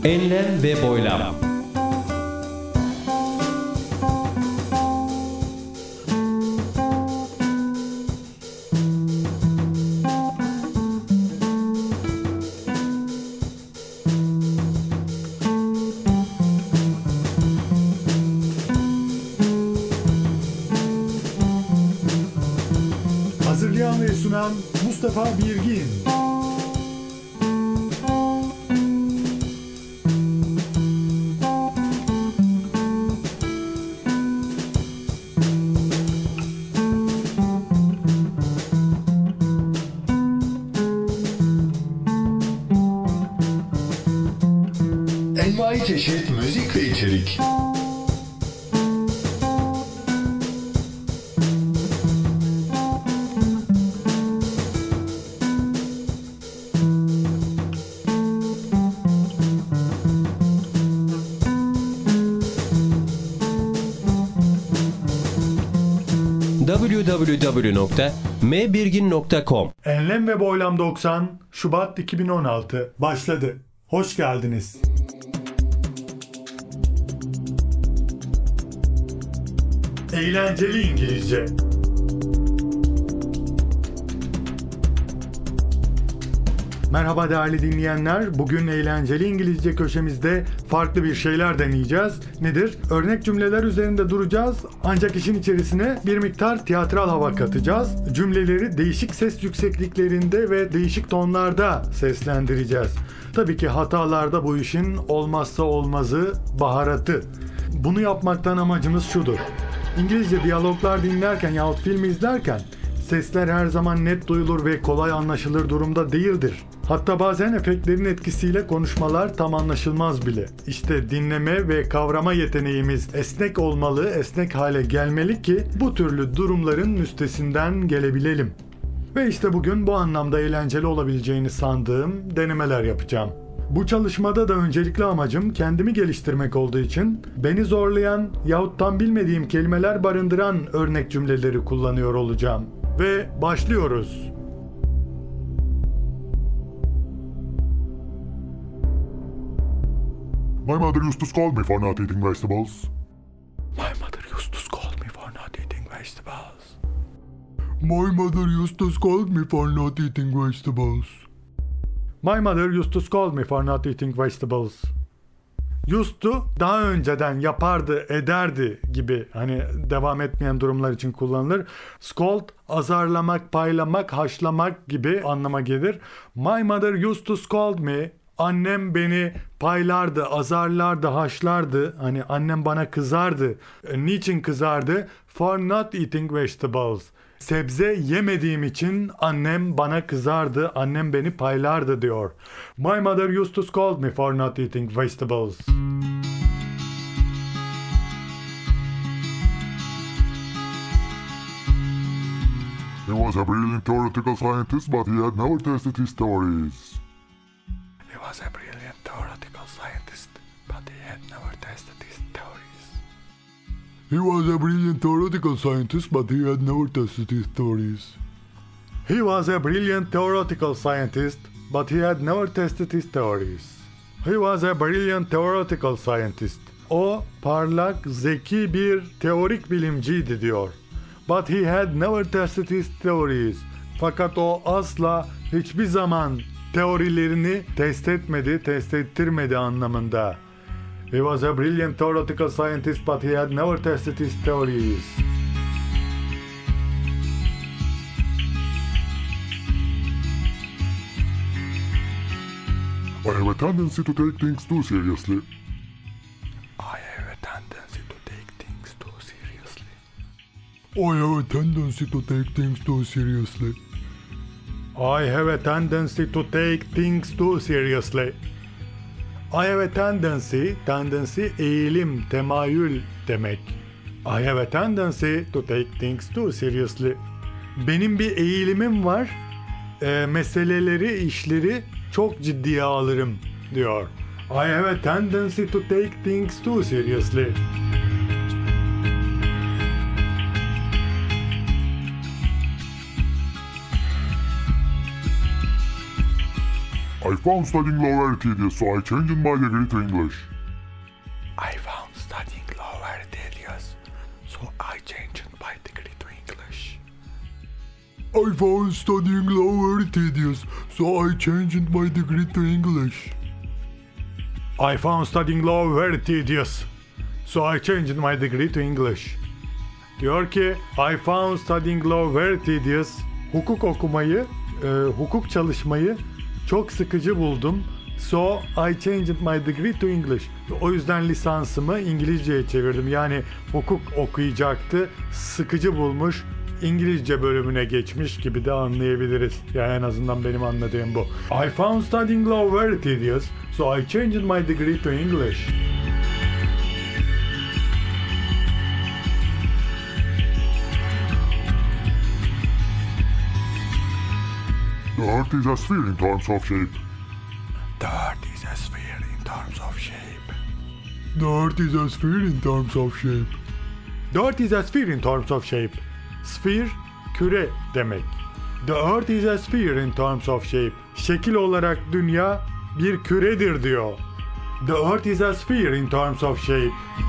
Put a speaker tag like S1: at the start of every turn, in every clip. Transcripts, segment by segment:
S1: Enlem ve boylam.
S2: Hazırlayan ve sunan Mustafa Birgin.
S3: Envai çeşit müzik ve içerik.
S1: www.mbirgin.com
S2: Enlem ve Boylam 90 Şubat 2016 başladı. Hoş geldiniz. Eğlenceli İngilizce. Merhaba değerli dinleyenler. Bugün eğlenceli İngilizce köşemizde farklı bir şeyler deneyeceğiz. Nedir? Örnek cümleler üzerinde duracağız. Ancak işin içerisine bir miktar tiyatral hava katacağız. Cümleleri değişik ses yüksekliklerinde ve değişik tonlarda seslendireceğiz. Tabii ki hatalarda bu işin olmazsa olmazı baharatı. Bunu yapmaktan amacımız şudur. İngilizce diyaloglar dinlerken yahut film izlerken sesler her zaman net duyulur ve kolay anlaşılır durumda değildir. Hatta bazen efektlerin etkisiyle konuşmalar tam anlaşılmaz bile. İşte dinleme ve kavrama yeteneğimiz esnek olmalı, esnek hale gelmeli ki bu türlü durumların üstesinden gelebilelim. Ve işte bugün bu anlamda eğlenceli olabileceğini sandığım denemeler yapacağım. Bu çalışmada da öncelikli amacım kendimi geliştirmek olduğu için beni zorlayan yahut tam bilmediğim kelimeler barındıran örnek cümleleri kullanıyor olacağım. Ve başlıyoruz.
S4: My mother used to scold me for not eating vegetables.
S2: My mother used to scold me for not eating vegetables.
S4: My mother used to scold me for not eating vegetables.
S2: My mother used to scold me for not eating vegetables. Used to daha önceden yapardı, ederdi gibi hani devam etmeyen durumlar için kullanılır. Scold azarlamak, paylamak, haşlamak gibi anlama gelir. My mother used to scold me. Annem beni paylardı, azarlardı, haşlardı. Hani annem bana kızardı. Niçin kızardı? For not eating vegetables. Sebze yemediğim için annem bana kızardı, annem beni paylardı diyor. My mother used to scold me for not eating vegetables.
S4: He was a brilliant theoretical scientist, but he had never tested his theories.
S2: He was a brilliant theoretical scientist, but he had never tested his theories.
S4: He was a brilliant theoretical scientist, but he had never tested his theories.
S2: He was a brilliant theoretical scientist, but he had never tested his theories. He was a brilliant theoretical scientist. O parlak, zeki bir teorik bilimciydi diyor. But he had never tested his theories. Fakat o asla hiçbir zaman teorilerini test etmedi, test ettirmedi anlamında. He was a brilliant theoretical scientist, but he had never tested his theories.
S4: I have a tendency to take things too seriously.
S2: I have a tendency to take things too seriously.
S4: I have a tendency to take things too seriously.
S2: I have a tendency to take things too seriously. I have a tendency eğilim, temayül demek. I have a tendency to take things too seriously. Benim bir eğilimim var. Meseleleri, işleri çok ciddiye alırım diyor. I have a tendency to take things too seriously.
S4: I found studying law very tedious, so I changed my degree to English.
S1: I found studying law very tedious, so I changed my degree to English.
S4: I found studying law very tedious, so I changed my degree to English.
S2: I found studying law very tedious, so I changed my degree to English. Diyor ki, I found studying law very tedious. Hukuk okumayı, hukuk çalışmayı çok sıkıcı buldum. So I changed my degree to English. O yüzden lisansımı İngilizceye çevirdim. Yani hukuk okuyacaktı, sıkıcı bulmuş, İngilizce bölümüne geçmiş gibi de anlayabiliriz. Yani en azından benim anladığım bu. I found studying law very tedious, so I changed my degree to English.
S4: The Earth is a sphere in terms of shape.
S1: The Earth is a sphere in terms of shape.
S4: The Earth is a sphere in terms of shape.
S2: The Earth is a sphere in terms of shape. Sphere, küre demek. The Earth is a sphere in terms of shape. Şekil olarak dünya bir küredir diyor. The Earth is a sphere in terms of shape.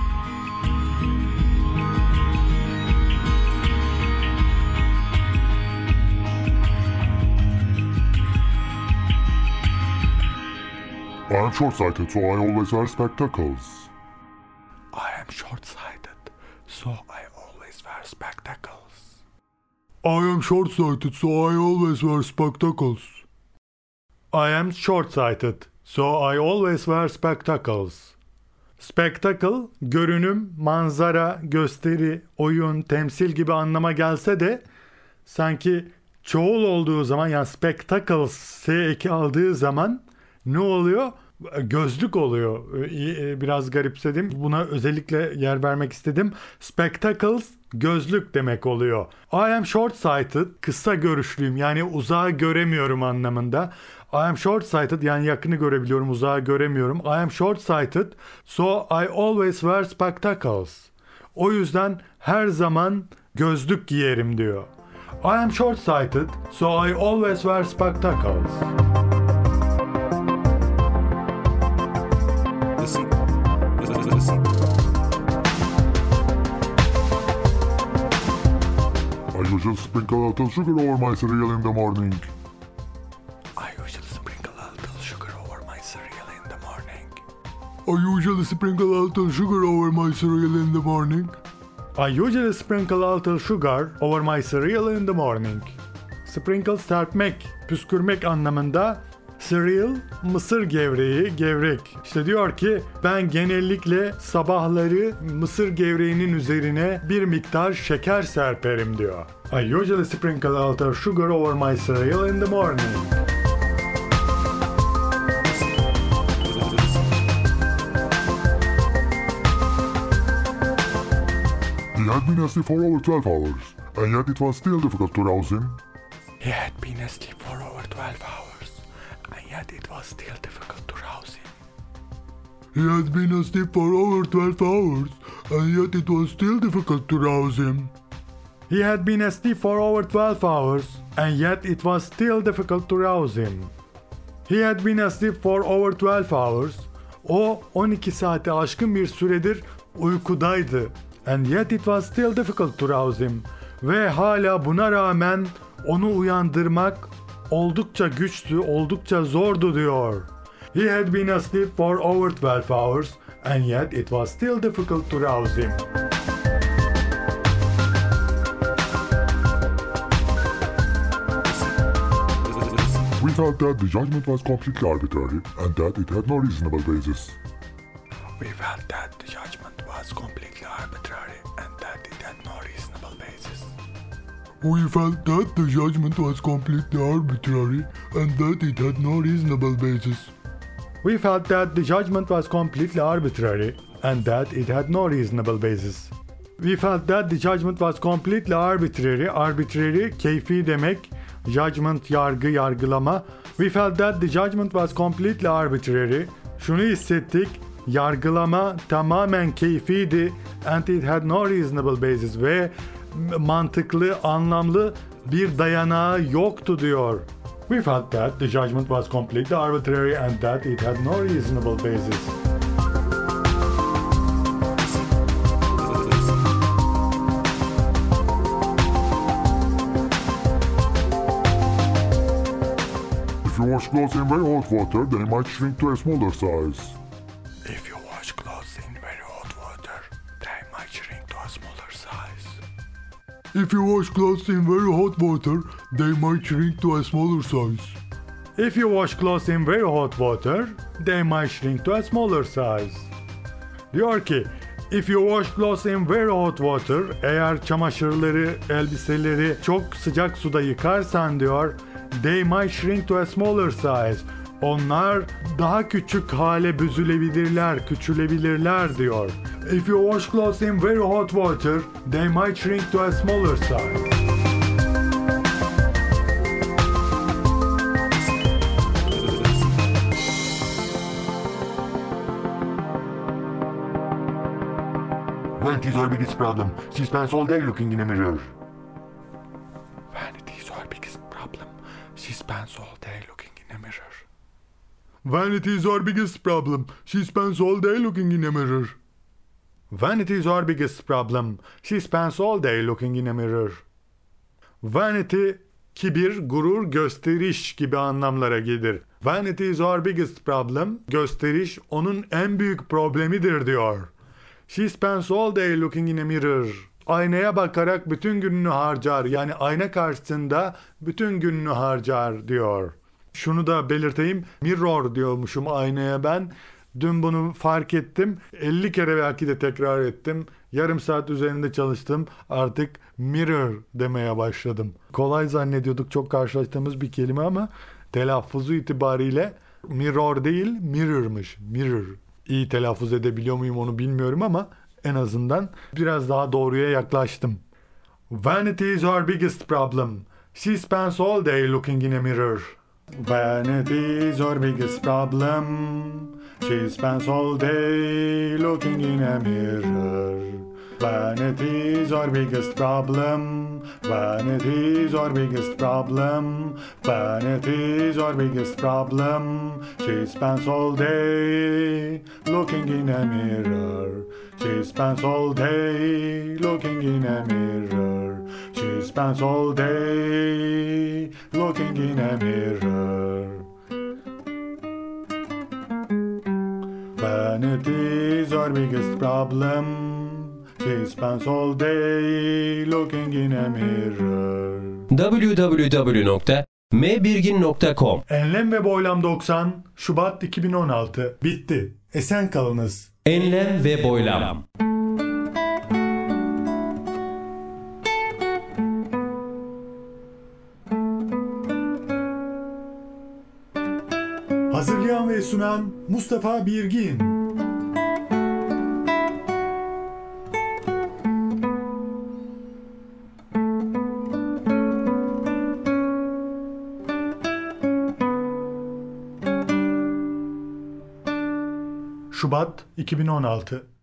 S4: I am short-sighted, so I always wear spectacles.
S1: I am short-sighted, so I always wear spectacles.
S4: I am short-sighted, so I always wear spectacles.
S2: I am short-sighted, so I always wear spectacles. Spectacle, görünüm, manzara, gösteri, oyun, temsil gibi anlama gelse de sanki çoğul olduğu zaman, yani spectacles S eki aldığı zaman ne oluyor? Gözlük oluyor. Biraz garipsedim. Buna özellikle yer vermek istedim. Spectacles gözlük demek oluyor. I am short-sighted, kısa görüşlüyüm, yani uzağı göremiyorum anlamında. I am short-sighted, yani yakını görebiliyorum, uzağı göremiyorum. I am short-sighted, so I always wear spectacles. O yüzden her zaman gözlük giyerim diyor. I am short-sighted, so I always wear spectacles.
S1: Listen. Listen.
S4: I usually sprinkle a little sugar over my cereal in the morning.
S1: I usually sprinkle a little sugar over my cereal in the morning.
S4: I usually sprinkle a little sugar over my cereal in the morning.
S2: I usually sprinkle a little sugar over my cereal in the morning. Sprinkle serpmek, püskürmek anlamında. Cereal, mısır gevreği, gevrek. İşte diyor ki ben genellikle sabahları mısır gevreğinin üzerine bir miktar şeker serperim diyor. I usually sprinkle a little sugar over my cereal in the morning.
S4: He had been asleep for over 12 hours, and yet it was still difficult to rouse him.
S1: He had been asleep for over 12 hours, and yet it was still difficult to rouse him.
S4: He had been asleep for over 12 hours, and yet it was still difficult to rouse him.
S2: He had been asleep for over 12 hours, and yet it was still difficult to rouse him. He had been asleep for over 12 hours. O 12 saate aşkın bir süredir uykudaydı. And yet it was still difficult to rouse him. Ve hala buna rağmen onu uyandırmak oldukça güçtü, oldukça zordu diyor. He had been asleep for over 12 hours, and yet it was still difficult to rouse him.
S4: We felt that the judgment was completely arbitrary, and that it had no reasonable basis.
S1: We felt that the judgment was completely arbitrary and that it had no reasonable basis.
S4: We felt that the judgment was completely arbitrary, and that it had no reasonable basis.
S2: We felt that the judgment was completely arbitrary and that it had no reasonable basis. We felt that the judgment was completely arbitrary. Arbitrary, keyfi demek. Judgment, yargı, yargılama. We felt that the judgment was completely arbitrary. Şunu hissettik, yargılama tamamen keyfiydi. And it had no reasonable basis. Ve mantıklı, anlamlı bir dayanağı yoktu diyor. We felt that the judgment was completely arbitrary and that it had no reasonable basis.
S4: If you wash clothes in very hot water, they might shrink to a smaller size.
S1: If you wash clothes in very hot water, they might shrink to a smaller size.
S4: If you wash clothes in very hot water, they might shrink to a smaller size.
S2: If you wash clothes in very hot water, they might shrink to a smaller size. Diyor ki, if you wash clothes in very hot water, eğer çamaşırları, elbiseleri çok sıcak suda yıkarsan diyor, they might shrink to a smaller size. Onlar daha küçük hale büzülebilirler, küçülebilirler diyor. If you wash clothes in very hot water, they might shrink to a smaller size.
S3: Vanity is our biggest problem. She spends all day looking in a mirror.
S1: Vanity is our biggest problem. She spends all day looking in a mirror.
S4: Vanity is our biggest problem. She spends all day looking in a mirror.
S2: Vanity is our biggest problem. She spends all day looking in a mirror. Vanity, kibir, gurur, gösteriş gibi anlamlara gelir. Vanity is our biggest problem. Gösteriş onun en büyük problemidir diyor. She spends all day looking in a mirror. Aynaya bakarak bütün gününü harcar. Yani ayna karşısında bütün gününü harcar diyor. Şunu da belirteyim. Mirror diyormuşum aynaya ben. Dün bunu fark ettim. 50 kere belki de tekrar ettim. Yarım saat üzerinde çalıştım. Artık mirror demeye başladım. Kolay zannediyorduk, çok karşılaştığımız bir kelime ama telaffuzu itibariyle mirror değil mirror'mış. Mirror. İyi telaffuz edebiliyor muyum onu bilmiyorum ama en azından biraz daha doğruya yaklaştım. Vanity is our biggest problem. She spends all day looking in a mirror. Vanity is our biggest problem. She spends all day looking in a mirror. Vanity is our biggest problem. Vanity is our biggest problem. Vanity is our biggest problem. She spends all day looking in a mirror. She spends all day looking in a mirror. She spends all day looking in a mirror. Vanity is our biggest problem. She spends all day looking in a mirror.
S5: www.mbirgin.com
S2: Enlem ve Boylam 90 Şubat 2016 bitti. Esen kalınız.
S5: Enlem ve boylam.
S2: Hazırlayan ve sunan Mustafa Birgin. Şubat 2016